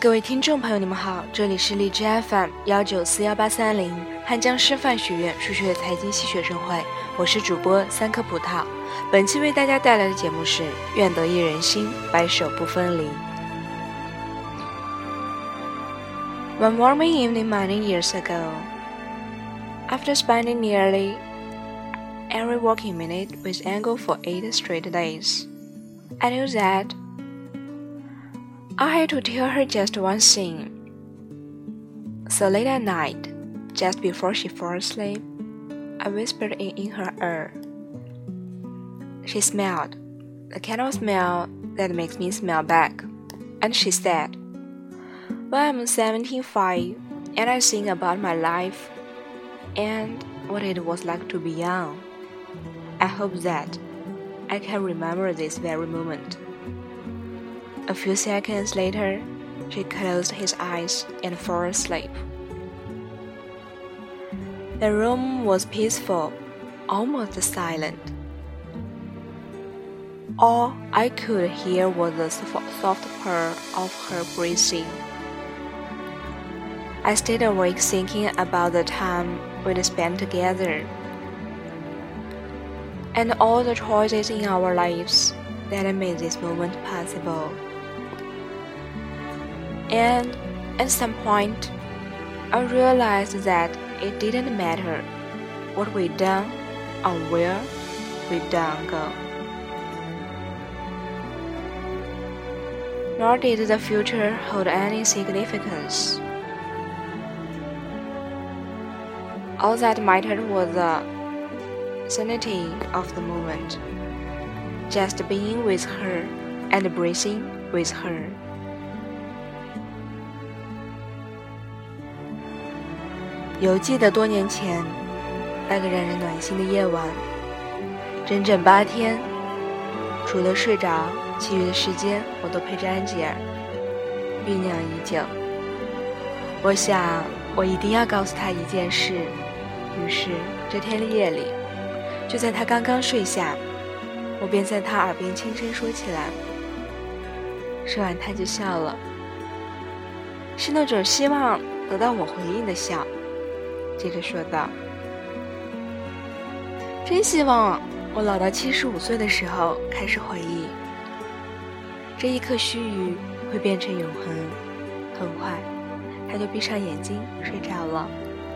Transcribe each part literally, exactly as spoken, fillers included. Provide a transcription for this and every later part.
各位听众朋友，你们好，这里是荔枝 F M 幺九四幺八三零汉江师范学院数学财经系学生会，我是主播三颗葡萄。本期为大家带来的节目是愿得一人心，白首不分离。One warming evening many years ago, after spending nearly every working minute with Angle for eight straight days, I knew that I had to tell her just one thing. So late at night, just before she fell asleep, I whispered it in her ear. She smelled, the kind of smell that makes me smell back, and she said, "When I'm seventy-five and I think about my life and what it was like to be young, I hope that I can remember this very moment." A few seconds later, she closed his eyes and fell asleep. The room was peaceful, almost silent. All I could hear was the soft purr of her breathing. I stayed awake thinking about the time we'd spent together, and all the choices in our lives that made this moment possible. And at some point, I realized that it didn't matter what we'd done or where we'd done go. Nor did the future hold any significance. All that mattered was the sanity of the moment, just being with her and breathing with her. 犹记得多年前那个让人暖心的夜晚，整整八天，除了睡着，其余的时间我都陪着安吉尔，酝酿已久。我想我一定要告诉他一件事，于是这天的夜里，就在他刚刚睡下，我便在他耳边轻声说起来。说完他就笑了，是那种希望得到我回应的笑。接着说道，真希望我老到七十五岁的时候开始回忆，这一刻须臾会变成永恒。很快他就闭上眼睛睡着了。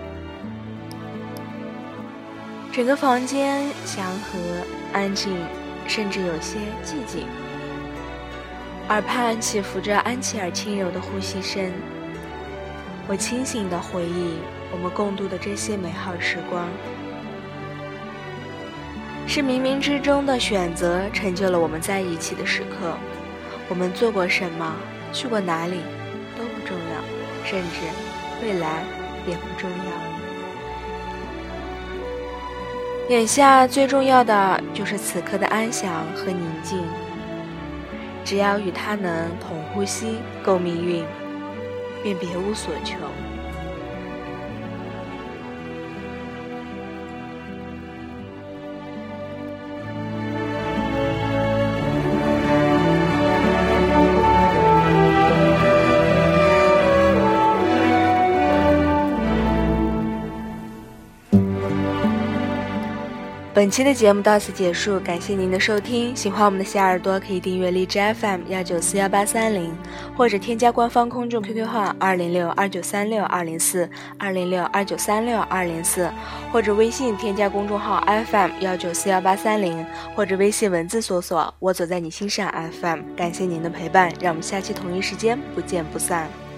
整个房间祥和安静，甚至有些寂静，耳畔起伏着安琪儿轻柔的呼吸声。我清醒地回忆我们共度的这些美好时光，是冥冥之中的选择成就了我们在一起的时刻。我们做过什么，去过哪里都不重要，甚至未来也不重要。眼下最重要的就是此刻的安详和宁静，只要与他能同呼吸共命运，便别无所求。本期的节目到此结束，感谢您的收听。喜欢我们的小耳朵可以订阅荔枝 F M 幺九四幺八三零，或者添加官方公众 Q Q 号二零六二九三六二零四二零六二九三六二零四，或者微信添加公众号 F M 幺九四幺八三零，或者微信文字搜索我走在你心上 F M。感谢您的陪伴，让我们下期同一时间不见不散。